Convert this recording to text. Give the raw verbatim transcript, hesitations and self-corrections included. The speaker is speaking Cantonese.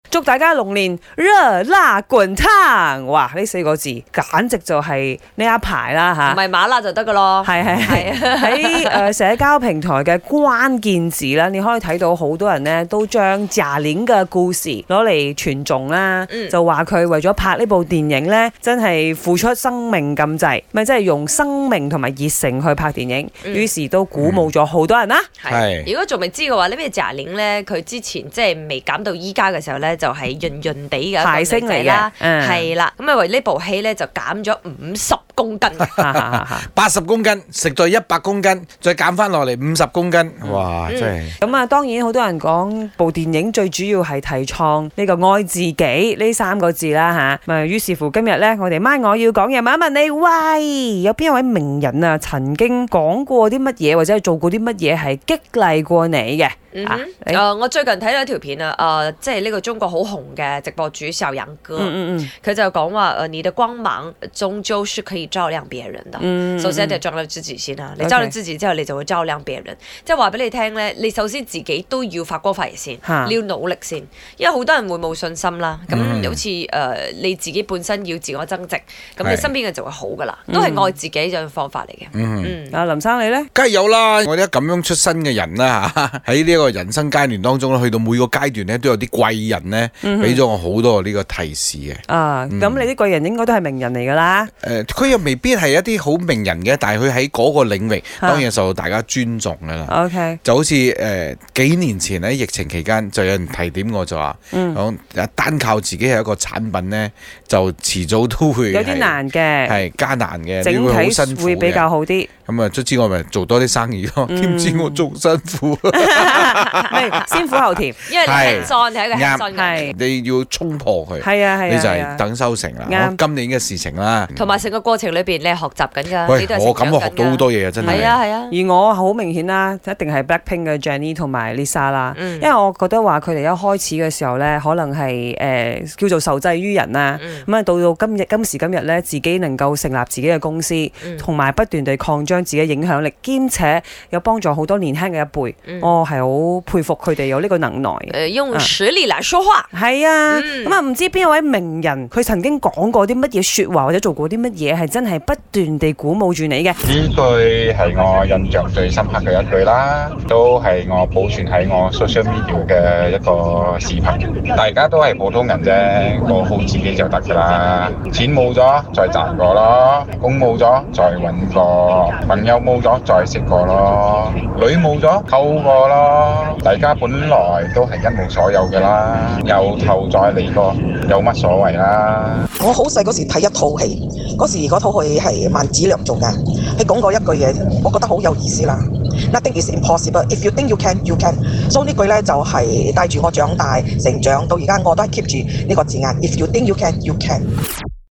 祝大家龍年熱辣滾燙！哇，呢四個字簡直就係呢一排啦吓， 唔係馬拉就得噶咯。 係係係喺誒社交平台嘅關鍵字啦，你可以睇到好多人咧都將賈玲嘅故事攞嚟傳頌啦， 嗯、 就話佢為咗拍呢部電影咧，真係付出生命咁滯，咪即係用生命同埋熱誠去拍電影，嗯、於是都鼓舞咗好多人啦。 係、嗯，如果仲未知嘅話，呢咩賈玲咧，佢之前即係未減到依家嘅時候咧，就係潤潤地嘅排星嚟嘅， 係啦，咁啊為呢部戲咧就減咗五十公斤， 八十公斤食咗一百公斤，再減翻落嚟五十公斤，哇！嗯、真係咁啊！當然好多人講部電影最主要係提倡呢個愛自己呢三個字啦吓，咪、啊、於是乎今日咧，我哋MY我要講嘢問一問你，喂，有邊一位名人啊曾經講過啲乜嘢或者係做過啲乜嘢係激勵過你嘅？ 嗯哼，誒、啊呃，我最近睇到一條片啊，誒、呃，即係呢個中國好紅嘅直播主小楊哥，佢、嗯嗯嗯、就講話誒，你的光芒終究是可以照亮別人的。嗯、首先一定要照亮自己先啦，你照亮自己之後，你就會照亮別人。Okay. 即係話俾你聽咧，你首先自己都要發光發熱先，哈你要努力先，因為好多人會冇信心啦。咁、嗯、好似誒、呃、你自己本身要自我增值，咁你身邊嘅就會好噶啦，是都係愛自己嘅方法嚟嘅。嗯，嗯阿林生你咧， 梗係有啦，我哋咁樣出身嘅人啦嚇，喺呢個人生階段當中咧，去到每個階段咧，都有啲貴人咧，俾咗我好多呢個提示嘅。啊， 咁、嗯、你啲貴人應該都係名人嚟㗎啦。誒、 呃，佢又未必係一啲好名人嘅，但係佢喺嗰個領域當然受到大家尊重㗎啦。OK，、啊、就好似誒、呃、幾年前喺疫情期間，就有人提點我就話，講、嗯、單靠自己係一個產品咧，就遲早都會有啲難嘅，係艱難嘅， 整體會比較好啲。 咁啊，卒之我咪做多啲生意咯，點、嗯、知我仲辛苦。 先苦後甜， 因為你係裝係一個係裝嘅， 你要衝破佢， 係啊係啊， 你就係等收成啦。我今年嘅事情啦， 同埋成個過程裏邊你係學習緊㗎。 喂，我咁我學到好多嘢啊，真係。 係啊係啊。 而我好明顯啦，一定係 Blackpink 嘅 Jennie 同埋 Lisa 啦，因為我覺得話佢哋一開始嘅時候咧，可能係誒叫做受制於人啦。咁啊，到到今日今時今日咧，自己能夠成立自己嘅公司，同埋不斷地擴張自己嘅影響力，兼且有幫助好多年輕嘅一輩，我係好佩服佢哋有呢個能耐。 誒，用實力嚟說話。 係啊，咁啊唔知邊一位名人佢曾經講過啲乜嘢説話，或者做過啲乜嘢係真係不斷地鼓舞住你嘅？ 呢句係我印象最深刻嘅一句啦，都係我保存喺我 social media 嘅一個視頻。大家都係普通人啫，過好自己就得㗎啦。錢冇咗再賺過咯，工冇咗再揾過，朋友冇咗再識過咯，女冇咗溝過咯。大家本來都係一無所有㗎啦，由頭再嚟過，有乜所謂啦？ 我好細嗰時睇一套戲，嗰時嗰套戲係萬梓良做嘅，佢講過一句嘢，我覺得好有意思啦。Nothing is impossible. If you think you can, you can. 所以呢句咧就係帶住我長大成長到而家，我都係 keep 住呢個字眼。If you think you can, you can.